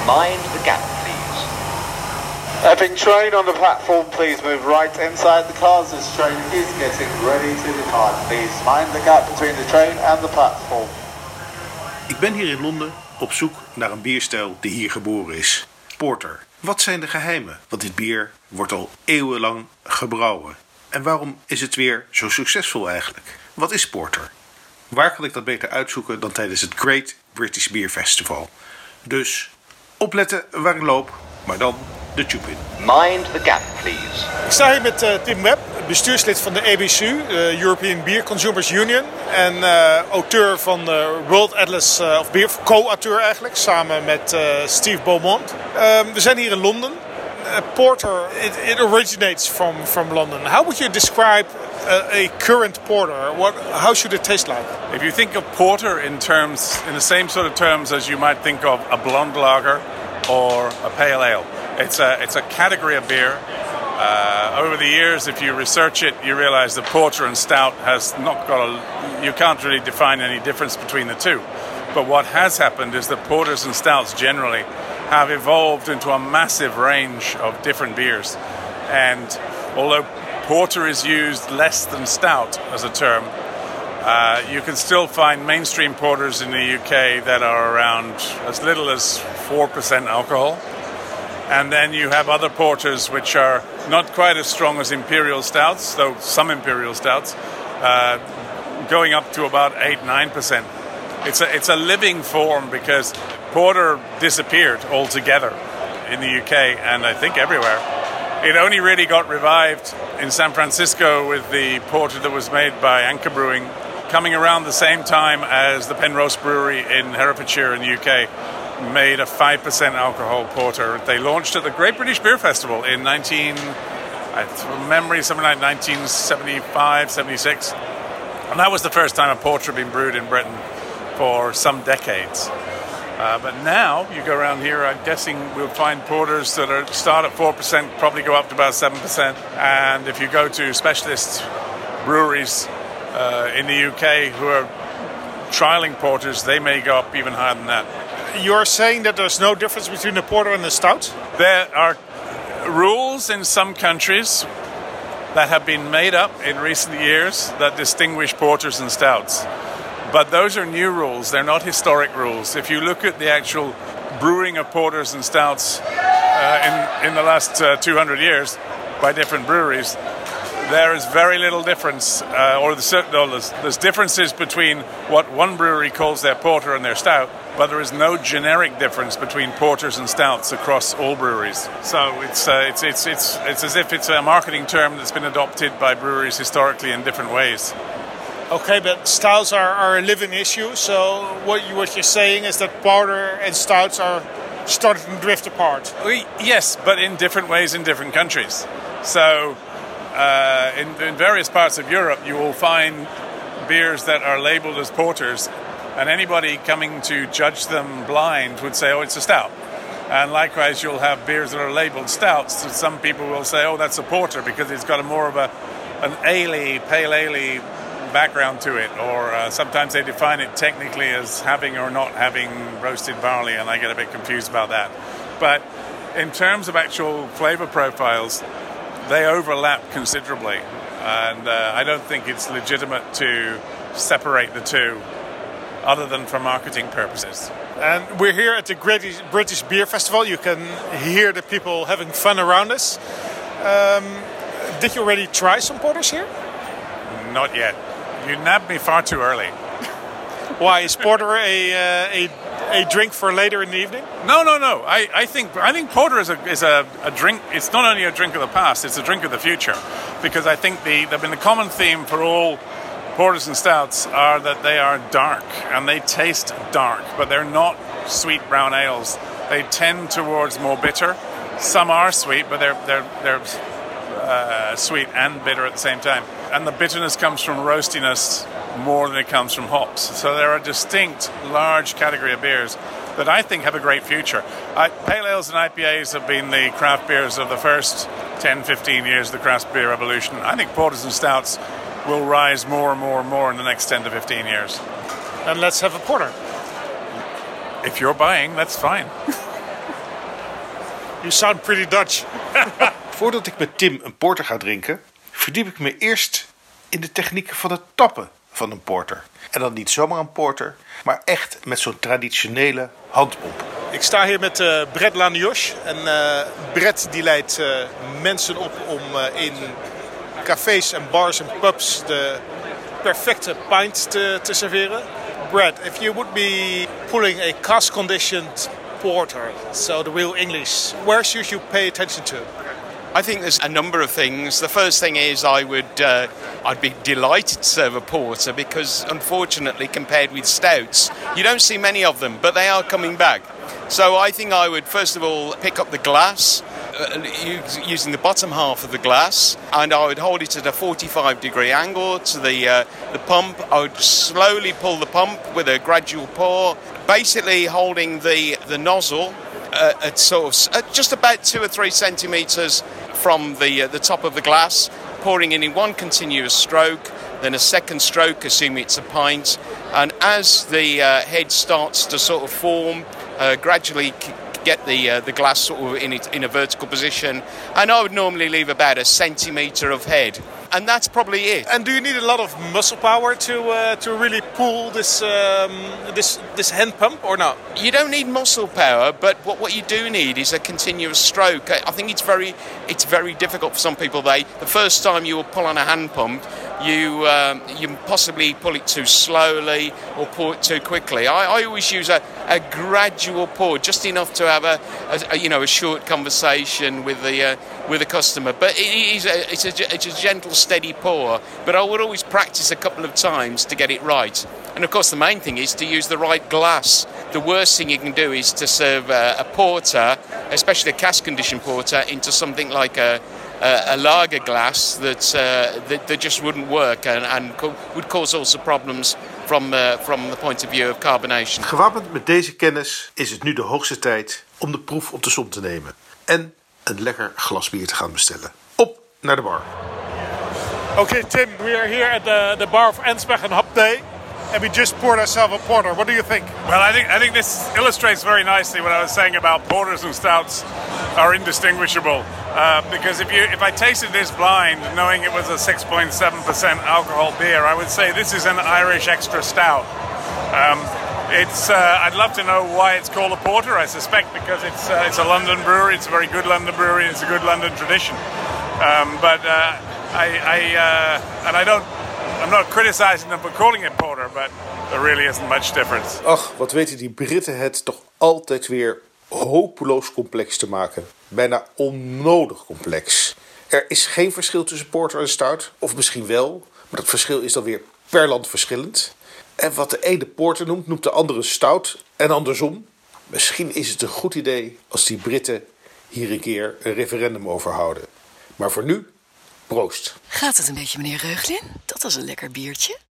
Mind the gap, please. Having train on the platform, please move right inside the cars. This train is getting ready to depart. Please mind the gap between the train and the platform. Ik ben hier in Londen op zoek naar een bierstijl die hier geboren is. Porter. Wat zijn de geheimen? Want dit bier wordt al eeuwenlang gebrouwen. En waarom is het weer zo succesvol eigenlijk? Wat is porter? Waar kan ik dat beter uitzoeken dan tijdens het Great British Beer Festival? Dus opletten waar ik loop, maar dan de tube in. Mind the gap, please. Ik sta hier met Tim Webb, bestuurslid van de EBCU, de European Beer Consumers Union. En auteur van de World Atlas of Beer, co-auteur eigenlijk, samen met Steve Beaumont. We zijn hier in Londen. Porter, it originates from London. How would you describe a current porter? How should it taste like? If you think of porter in the same sort of terms as you might think of a blonde lager or a pale ale, it's a category of beer. Over the years, if you research it, you realize that porter and stout has not got you can't really define any difference between the two. But what has happened is that porters and stouts generally have evolved into a massive range of different beers. And although porter is used less than stout as a term, you can still find mainstream porters in the UK that are around as little as 4% alcohol. And then you have other porters which are not quite as strong as imperial stouts, though some imperial stouts, going up to about 8-9%. It's a living form because porter disappeared altogether in the UK and I think everywhere. It only really got revived in San Francisco with the porter that was made by Anchor Brewing, coming around the same time as the Penrose Brewery in Herefordshire in the UK made a 5% alcohol porter. They launched at the Great British Beer Festival in 1975, 76. And that was the first time a porter had been brewed in Britain for some decades. But now, you go around here, I'm guessing we'll find porters that start at 4%, probably go up to about 7%. And if you go to specialist breweries in the UK who are trialing porters, they may go up even higher than that. You're saying that there's no difference between the porter and the stout? There are rules in some countries that have been made up in recent years that distinguish porters and stouts. But those are new rules, they're not historic rules. If you look at the actual brewing of porters and stouts in the last 200 years by different breweries, there is very little difference, there's differences between what one brewery calls their porter and their stout, but there is no generic difference between porters and stouts across all breweries. So it's as if it's a marketing term that's been adopted by breweries historically in different ways. Okay, but stouts are a living issue, so what you're saying is that porter and stouts are starting to drift apart. Yes, but in different ways in different countries. So in various parts of Europe you will find beers that are labelled as porters, and anybody coming to judge them blind would say, oh, it's a stout. And likewise you'll have beers that are labelled stouts, so some people will say, oh, that's a porter because it's got more of an ale, pale ale background to it, or sometimes they define it technically as having or not having roasted barley, and I get a bit confused about that. But in terms of actual flavour profiles, they overlap considerably, and I don't think it's legitimate to separate the two other than for marketing purposes. And we're here at the Great British Beer Festival. You can hear the people having fun around us. Did you already try some porters here? Not yet. You nabbed me far too early. Why, is porter a drink for later in the evening? No. I think porter is a drink. It's not only a drink of the past; it's a drink of the future. Because I think the common theme for all porters and stouts are that they are dark and they taste dark, but they're not sweet brown ales. They tend towards more bitter. Some are sweet, but they're sweet and bitter at the same time. And the bitterness comes from roastiness more than it comes from hops. So there are distinct, large category of beers that I think have a great future. Pale ales and IPAs have been the craft beers of the first 10, 15 years of the craft beer revolution. I think porters and stouts will rise more and more and more in the next 10 to 15 years. And let's have a porter. If you're buying, that's fine. You sound pretty Dutch. Voordat ik met Tim een porter ga drinken, verdiep ik me eerst in de technieken van het tappen van een porter. En dan niet zomaar een porter, maar echt met zo'n traditionele handpomp. Ik sta hier met Brett Lanioche. En Brett die leidt mensen op om in cafés en bars en pubs de perfecte pint te serveren. Brett, if you would be pulling a cask-conditioned porter, so the real English, where should you pay attention to? I think there's a number of things. The first thing is I'd be delighted to serve a porter because unfortunately compared with stouts, you don't see many of them, but they are coming back. So I think I would first of all pick up the glass, using the bottom half of the glass, and I would hold it at a 45-degree angle to the pump. I would slowly pull the pump with a gradual pour, basically holding the nozzle at just about 2 or 3 centimeters from the top of the glass, pouring in one continuous stroke, then a second stroke, assuming it's a pint, and as the head starts to sort of form, gradually get the glass sort of in a vertical position, and I would normally leave about a centimeter of head, and that's probably it. And do you need a lot of muscle power to really pull this hand pump or not? You don't need muscle power, but what you do need is a continuous stroke. I think it's very difficult for some people. The first time you will pull on a hand pump, you possibly pull it too slowly or pull it too quickly. I always use a gradual pour, just enough to have a short conversation with the customer. But it's a gentle, steady pour. But I would always practice a couple of times to get it right. And of course, the main thing is to use the right glass. The worst thing you can do is to serve a porter, especially a cask-conditioned porter, into something like a lager glass that just wouldn't work and would cause sorts of problems from the point of view of carbonation. Gewapend met deze kennis is het nu de hoogste tijd om de proef op de som te nemen. En een lekker glas bier te gaan bestellen. Op naar de bar. Okay, Tim, we are here at the bar of Ansbach and Hop Day. And we just poured ourselves a porter. What do you think? Well, I think this illustrates very nicely what I was saying about porters and stouts are indistinguishable. Because if I tasted this blind, knowing it was a 6.7% alcohol beer, I would say this is an Irish extra stout. I'd love to know why it's called a porter. I suspect because it's a London brewery. It's a very good London brewery. It's a good London tradition. I'm not criticizing them for calling it porter, but there really isn't much difference. Ach, wat weten die Britten het toch altijd weer hopeloos complex te maken. Bijna onnodig complex. Er is geen verschil tussen porter en stout. Of misschien wel, maar dat verschil is dan weer per land verschillend. En wat de ene porter noemt de andere stout en andersom. Misschien is het een goed idee als die Britten hier een keer een referendum over houden. Maar voor nu, proost. Gaat het een beetje, meneer Reuglin? Dat was een lekker biertje.